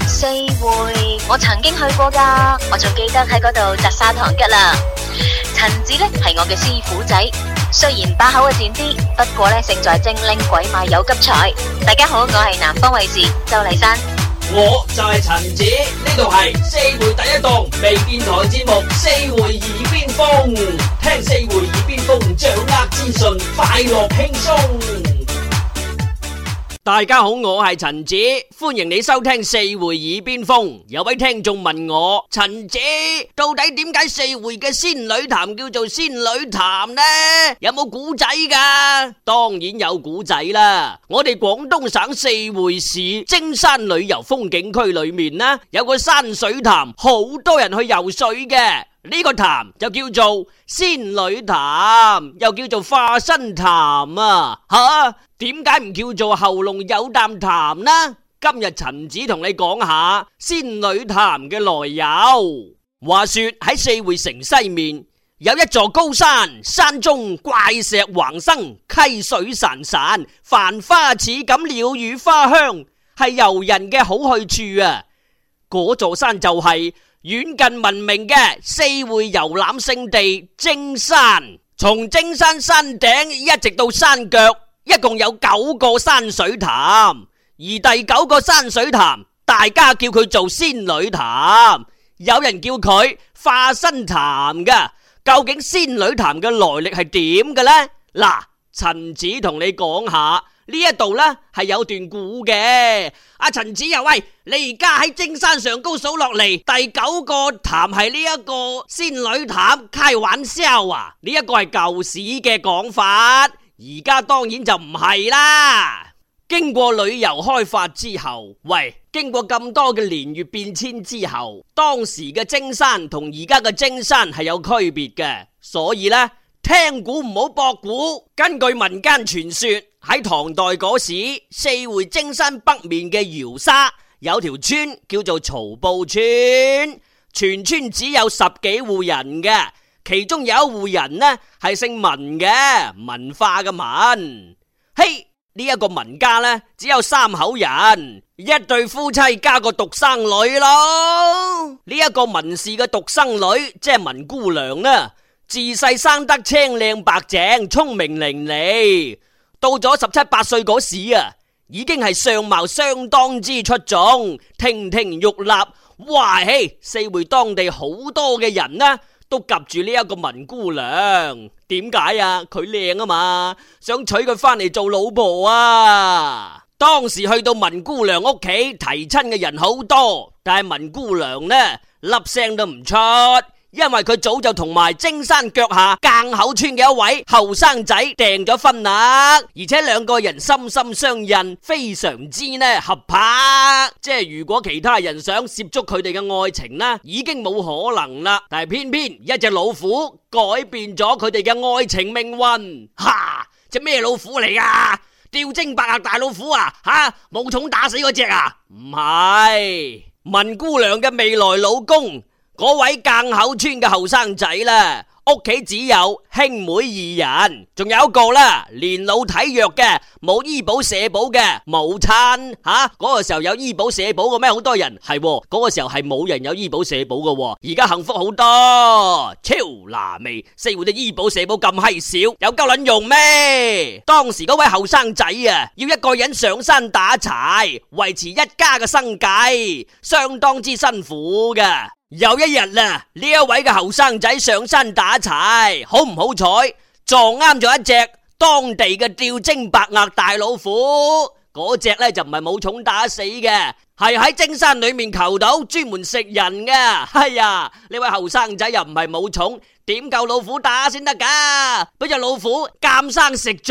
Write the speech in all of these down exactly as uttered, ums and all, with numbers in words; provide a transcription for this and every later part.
四會我曾經去過噶，我仲記得喺嗰度摘砂糖桔啦。陳子呢係我嘅師傅仔，雖然把口啊賤啲，不過呢勝在精靈鬼馬有急才。大家好，我係南方衛視周麗珊。 我就係陳子，呢度係四會第一檔微電台節目《四會耳邊風》，聽四會耳邊風，掌握資訊，快樂輕鬆。大家好，我係陳子，歡迎你收聽四會耳邊風。有位聽眾問我，陳子到底點解四會嘅仙女潭叫做仙女潭呢？有冇古仔噶？當然有古仔啦。我哋廣東省四會市精山旅遊風景區裏面呢，有個山水潭，好多人去游水嘅。呢個潭就叫做仙女潭，又叫做化身潭啊！吓，點解唔叫做喉嚨有啖潭呢？今日陳子同你講下仙女潭嘅來由。話說喺四會城西面有一座高山，山中怪石橫生，溪水潺潺，繁花似錦，鳥語花香，係遊人嘅好去處啊！嗰座山就係遠近聞名嘅四會遊覽勝地精山。從精山山頂一直到山腳，一共有九個山水潭，而第九個山水潭大家叫佢做仙女潭，有人叫佢化身潭噶。究竟仙女潭嘅來歷係點嘅呢？嗱，陳子同你講下。呢一度呢係有段古嘅。阿陳子又喂，你而家喺精山上高數落嚟，第九個潭係呢一個仙女潭，開玩笑啊！呢一個係舊時嘅講法，而家當然就唔係啦。經過旅遊開發之後，喂，經過咁多嘅年月變遷之後，當時嘅精山同而家嘅精山係有區別嘅，所以呢，聽古唔好駁古。根據民間傳說，喺唐代嗰時，四會精山北面嘅瑤沙有條村叫做曹埔村，全村只有十幾戶人嘅，其中有一戶人呢係姓文嘅，文化嘅文。嘿，呢一個文家呢只有三口人，一對夫妻加個獨生女咯。呢一個文氏嘅獨生女即係文姑娘呢，自細生得青靚白淨，聰明伶俐。到咗十七八歲嗰時啊，已經係相貌相當之出眾，亭亭玉立。哇嘿，四會當地好多嘅人呢都及住呢一個文姑娘。點解啊？佢靚啊嘛，想娶佢翻嚟做老婆啊。當時去到文姑娘屋企提親嘅人好多，但係文姑娘呢粒聲都唔出，因為佢早就同埋精山腳下澗口村嘅一位後生仔訂咗婚啦，而且兩個人心心相印，非常之呢合拍。即係如果其他人想涉足佢哋嘅愛情呢，已經冇可能啦。但係偏偏一隻老虎改變咗佢哋嘅愛情命運。哈！隻咩老虎嚟噶？吊睛白額大老虎啊？吓，武松打死嗰隻啊？唔係，文姑娘嘅未來老公。嗰位澗口村嘅後生仔啦，屋企只有兄妹二人，仲有一個啦，年老體弱嘅，冇醫保社保嘅母親。吓，嗰個時候有醫保社保嘅咩？好多人係，嗰個時候係冇人有醫保社保嘅，而家幸福好多，超拿味。四會嘅醫保社保咁閪少，有夠撚用咩？當時嗰位後生仔啊，要一個人上山打柴，維持一家嘅生計，相當之辛苦嘅。有一日啦，呢一位嘅後生仔上山打柴，好唔好彩撞啱咗一隻當地嘅吊睛白額大老虎。嗰隻呢就唔係武松打死嘅，係喺精山裏面求到，專門食人嘅。哎呀，呢位後生仔又唔係武松，點夠老虎打先得噶？俾隻老虎監生食咗。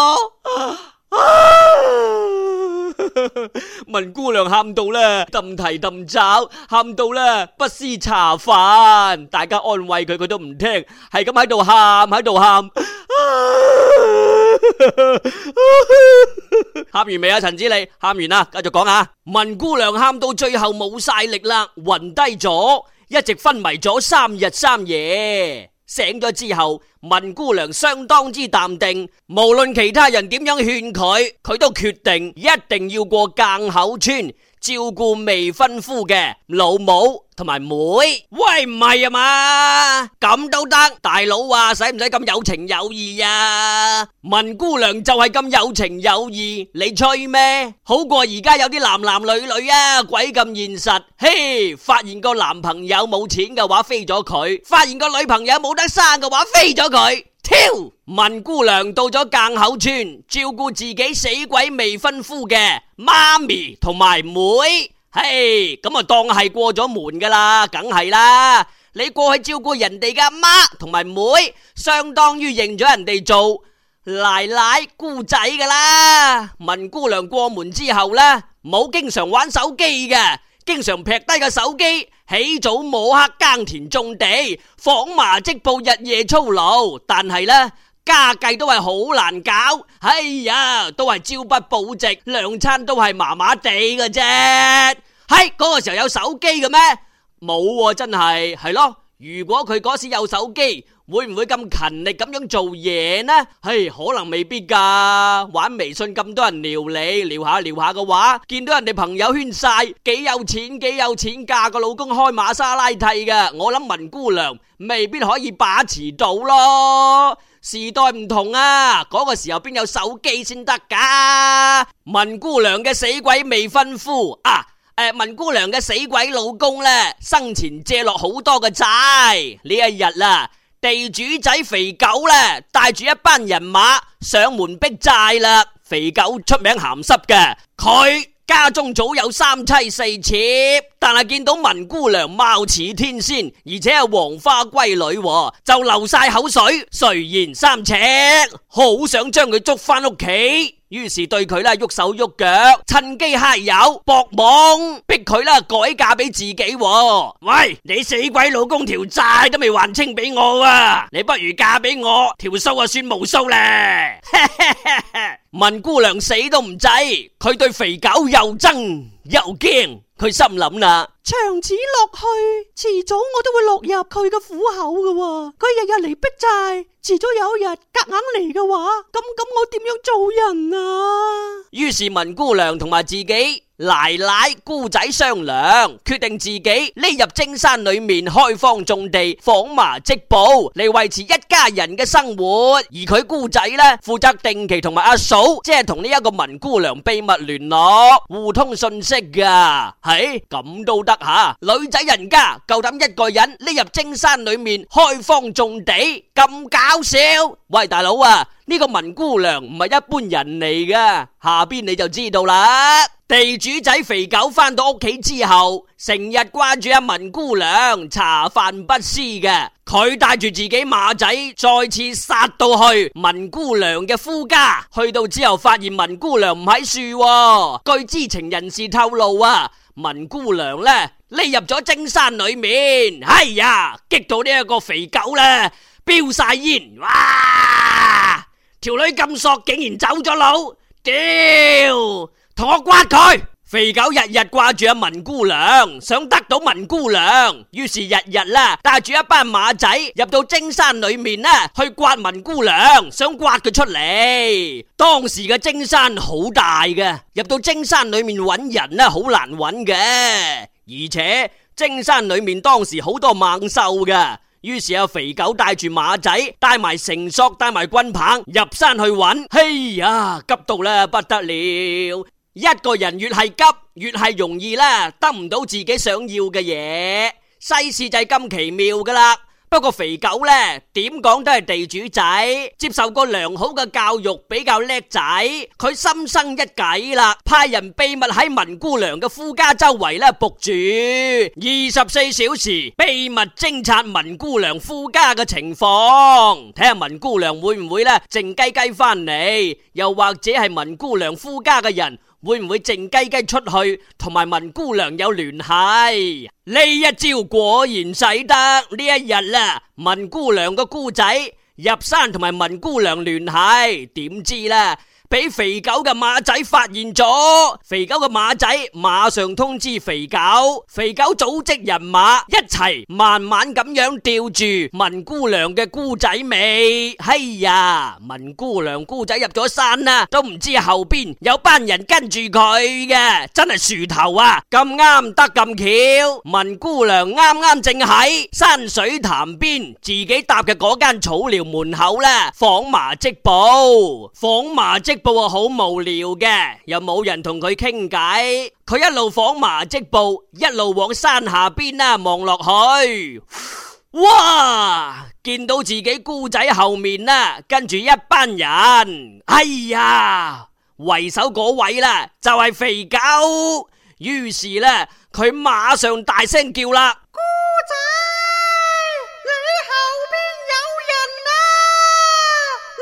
文姑娘喊到咧，揼蹄揼爪，喊到咧不思茶飯。大家安慰佢，佢都唔聽，係咁喺度喊，喺度喊。喊完未啊？陳子你喊完啦，繼續講下。文姑娘喊到最後冇晒力啦，暈低咗，一直昏迷咗三日三夜。醒咗之後，文姑娘相當之淡定，無論其他人點樣勸佢，佢都決定一定要過澗口村照顧未婚夫嘅老母同埋妹。喂，唔係啊嘛，咁都得？大佬啊，使唔使咁有情有義啊？文姑娘就係咁有情有義，你吹咩？好過而家有啲男男女女啊，鬼咁現實。嘿，發現個男朋友冇錢嘅話飛咗佢，發現個女朋友冇得生嘅話飛咗佢。挑文姑娘到咗澗口村，照顧自己死鬼未婚夫嘅媽咪同埋妹。嘿，咁啊當係過咗門噶啦，梗係啦。你過去照顧人哋嘅阿媽同埋妹，相當於認咗人哋做奶奶姑仔噶啦。文姑娘過門之後呢，冇經常玩手機嘅，經常劈低個手機，起早摸黑耕田種地，紡麻織布，日夜操勞。但係呢，家計都係好難搞，哎呀，都係朝不保夕，兩餐都係麻麻地嘅啫。係嗰個時候有手機嘅咩？冇喎，真係係咯。如果佢嗰時有手機，會唔會咁勤力咁樣做嘢呢？唉，可能未必噶。玩微信咁多人撩你，撩下撩下嘅話，見到人哋朋友圈晒幾有錢幾有錢，嫁個老公開瑪莎拉蒂嘅，我諗文姑娘未必可以把持到咯。時代唔同啊，嗰個時候邊有手機先得噶？文姑娘嘅死鬼未婚夫啊！誒，文姑娘嘅死鬼老公呢，生前借落好多嘅債。呢一日啦，地主仔肥狗呢，帶住一班人馬上門逼債啦。肥狗出名鹹濕嘅，佢家中早有三妻四妾，但係見到文姑娘貌似天仙，而且係黃花閨女，就流晒口水，垂涎三尺，好想將佢捉翻屋企。於是對佢啦喐手喐腳，趁機揩油搏懵，逼佢啦改嫁俾自己。喂，你死鬼老公條債都未還清俾我啊！你不如嫁俾我，條數啊算無數咧。文姑娘死都唔制，佢對肥狗又憎又驚。佢心諗啦，長此落去，遲早我都會落入佢嘅虎口嘅。佢日日嚟逼債，遲早有一日夾硬嚟嘅話，咁咁我點樣做人啊？於是文姑娘同埋自己奶奶姑仔商量，決定自己匿入精山裏面開荒種地，紡麻織布嚟維持一家人嘅生活。而佢姑仔呢，負責定期同埋阿嫂，即係同呢一個文姑娘秘密聯絡，互通信息噶。係咁都得吓，女仔人家夠膽一個人匿入精山裏面開荒種地，咁搞笑？喂，大佬啊，呢個文姑娘唔係一般人嚟噶，下邊你就知道啦。地主仔肥狗返到屋企之後，成日掛住阿文姑娘，茶飯不思嘅。佢帶住自己馬仔，再次殺到去文姑娘嘅夫家。去到之後，發現文姑娘唔喺樹。據知情人士透露啊，文姑娘呢匿入咗精山裏面。哎呀，激到呢一個肥狗呢飆晒煙，哇！條女咁索，竟然走咗佬，屌！同我刮佢！肥狗日日掛住阿文姑娘，想得到文姑娘，於是日日啦帶住一班馬仔入到精山裏面啦，去刮文姑娘，想刮佢出嚟。當時嘅精山好大嘅，入到精山裏面揾人啦，好難揾嘅，而且精山裏面當時好多猛獸嘅。於是阿肥狗帶住馬仔，帶埋繩索，帶埋棍棒入山去揾。嘿呀，急到啦不得了！一個人越係急，越係容易啦，得唔到自己想要嘅嘢。世事就係咁奇妙噶啦。不過肥狗呢，點講都係地主仔，接受過良好嘅教育，比較叻仔。佢心生一計啦，派人秘密喺文姑娘嘅夫家周圍呢伏住，二十四小時秘密偵察文姑娘夫家嘅情況，睇下文姑娘會唔會呢靜雞雞翻嚟，又或者係文姑娘夫家嘅人會唔會靜雞雞出去同埋文姑娘有聯繫？呢一招果然使得。呢一日啦，文姑娘個姑仔入山同埋文姑娘聯繫，點知啦， 俾肥狗嘅馬仔發現咗。肥狗嘅馬仔馬上通知肥狗，肥狗組織人馬一齊慢慢咁樣吊住文姑娘嘅姑仔尾。哎呀，文姑娘姑仔入咗山啦，都唔知後邊有班人跟住佢嘅，真係樹頭啊！咁啱得咁巧，文姑娘啱啱正喺山水潭邊自己搭嘅嗰間草寮門口啦，紡麻織布。紡麻織布啊，好無聊嘅，又冇人同佢傾偈。佢一路紡麻織布，一路往山下邊啦望落去。哇！見到自己姑仔後面啦，跟住一班人。哎呀，為首嗰位啦，就係肥狗。於是呢，佢馬上大聲叫啦： 姑仔，你後邊有人啊！你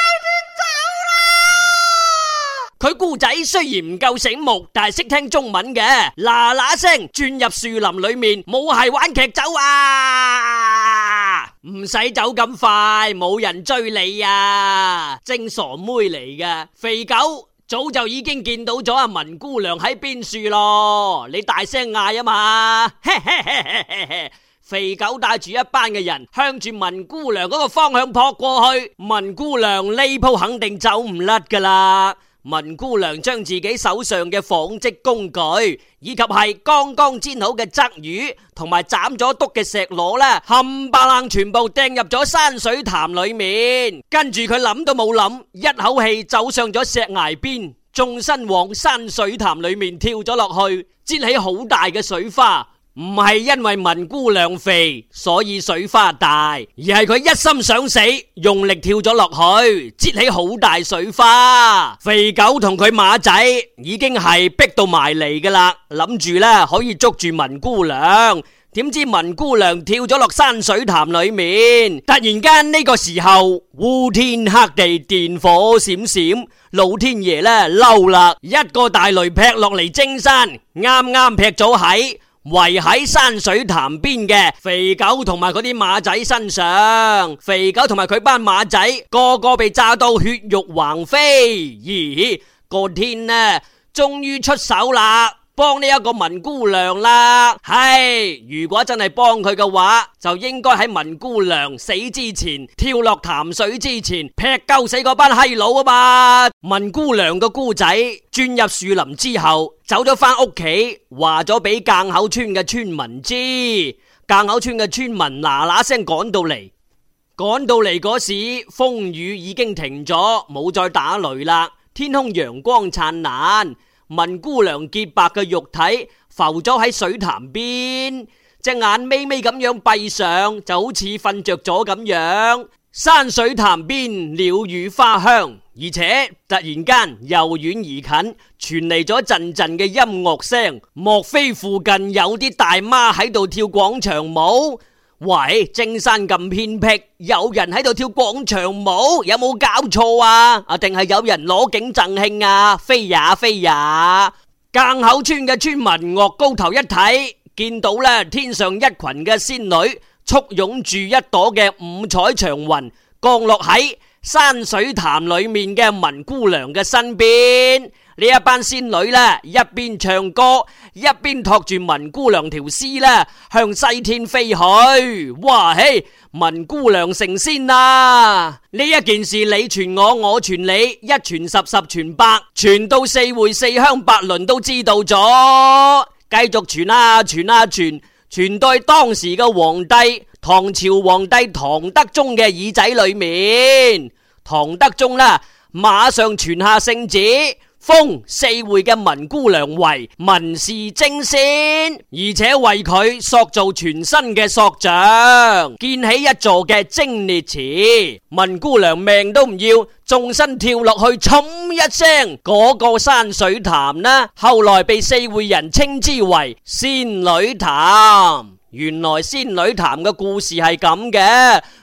快啲走啦！ 佢姑仔雖然唔夠醒目，但係識聽中文嘅，嗱嗱聲轉入樹林裏面，冇係玩劇走啊！唔使走咁快，冇人追你啊！正傻妹嚟嘅，肥狗早就已經見到咗阿文姑娘喺邊樹咯，你大聲嗌啊嘛！肥狗帶住一班嘅人向住文姑娘嗰個方向撲過去，文姑娘呢鋪肯定走唔甩噶啦。文姑娘將自己手上嘅紡織工具，以及係剛剛煎好嘅鯽魚同埋斬咗篤嘅石螺啦，冚唪唥全部掟入咗山水潭裏面。跟住佢諗都冇諗，一口氣走上咗石崖邊，縱身往山水潭裏面跳咗落去，濺起好大嘅水花。唔係因為文姑娘肥所以水花大，而係佢一心想死，用力跳咗落去，濺起好大水花。肥狗同佢馬仔已經係逼到埋嚟噶啦，諗住咧可以捉住文姑娘。點知文姑娘跳咗落山水潭裏面，突然間呢個時候烏天黑地，電火閃閃，老天爺咧嬲啦，一個大雷劈落嚟精山，啱啱劈咗喺圍喺山水潭邊嘅肥狗同埋嗰啲馬仔身上。肥狗同埋佢班馬仔個個被炸到血肉橫飛。咦，個天呢終於出手啦，幫呢一個文姑娘啦。係，如果真係幫佢嘅話，就應該喺文姑娘死之前，跳落潭水之前劈鳩死嗰班閪佬啊嘛。文姑娘個姑仔轉入樹林之後，走咗翻屋企，話咗俾澗口村嘅村民知。澗口村嘅村民嗱嗱聲趕到嚟，趕到嚟嗰時風雨已經停咗，冇再打雷啦，天空陽光燦爛。文姑娘潔白嘅肉體浮咗喺水潭邊，隻眼眯眯咁樣閉上，就好似瞓着咗咁樣。山水潭邊鳥語花香，而且突然間由遠而近傳嚟咗陣陣嘅音樂聲，莫非附近有啲大媽喺度跳廣場舞？喂，精山咁偏僻，有人喺度跳廣場舞，有冇搞錯啊？啊，定係有人攞景贈慶啊？飛呀飛呀！澗口村嘅村民岳高頭一睇，見到咧天上一群嘅仙女簇擁住一朵嘅五彩祥雲，降落喺山水潭裏面嘅文姑娘嘅身邊。呢一班仙女咧，一邊唱歌，一邊托住文姑娘條絲咧，向西天飛去。哇嘿！文姑娘成仙啦！呢一件事你傳我，我傳你，一傳十，十傳百，傳到四會四鄉八鄰都知道咗。繼續傳啊傳啊傳，傳到當時嘅皇帝，唐朝皇帝唐德宗嘅耳仔裏面。唐德宗啦，馬上傳下聖旨，封四會嘅文姑娘為文氏貞仙，而且為佢塑造全新嘅塑像，建起一座嘅貞烈祠。文姑娘命都唔要，縱身跳落去，沖一聲，嗰個山水潭呢，後來被四會人稱之為仙女潭。原來仙女潭嘅故事係咁嘅，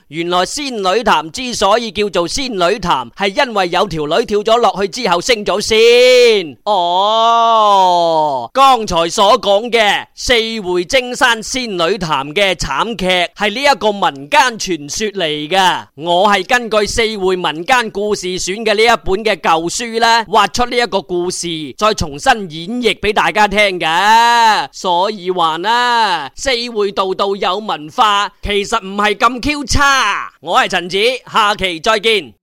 原來仙女潭之所以叫做仙女潭，係因為有條女跳咗落去之後升咗仙。哦，剛才所講嘅四會征山仙女潭嘅慘劇係呢一個民間傳說嚟噶，我係根據四會民間故事選嘅呢一本嘅舊書咧，畫出呢一個故事，再重新演繹俾大家聽嘅。所以話啦，四會道道有文化，其實唔係咁 Q 差。我係陳子，下期再見。